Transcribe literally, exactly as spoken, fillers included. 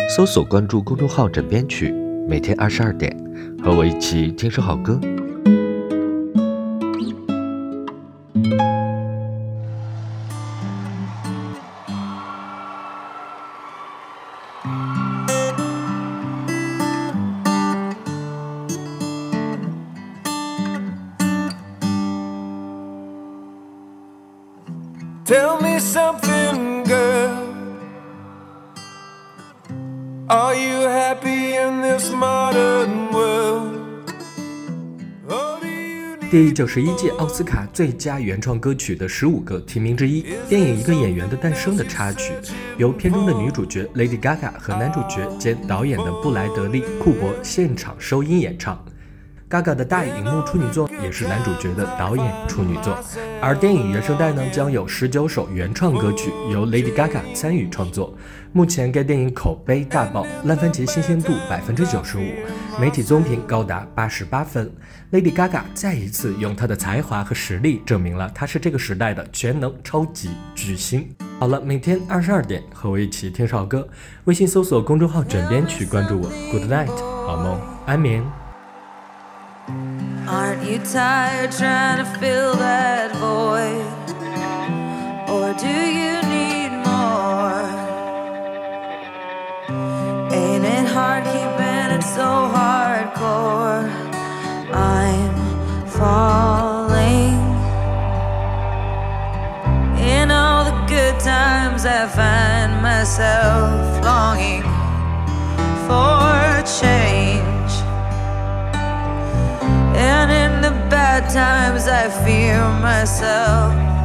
搜索关注公众号枕边曲，每天二十二点，和我一起听首好歌。 Tell me something, girl. Are you happy in this modern world? 第九十一届奥斯卡最佳原创歌曲的十五个提名之一，电影《一个演员的诞生》的插曲，由片中的女主角 Lady Gaga 和男主角兼导演的布莱德利·库珀现场收音演唱。Gaga 的大荧幕处女作也是男主角的导演处女作，而电影原声带呢将有十九首原创歌曲由 Lady Gaga 参与创作。目前该电影口碑大爆，烂番茄新鲜度 百分之九十五， 媒体综评高达八十八分。Lady Gaga 再一次用她的才华和实力证明了她是这个时代的全能超级巨星。好了，每天二十二点和我一起听首歌，微信搜索公众号枕边曲，关注我。 Good night， 好梦安眠。 Aren't you tired trying to fill that void? Or do you need more? Ain't it hard keeping it so hardcore? I'm falling. In all the good times I find myself longing for change, and in the bad times I fear myself.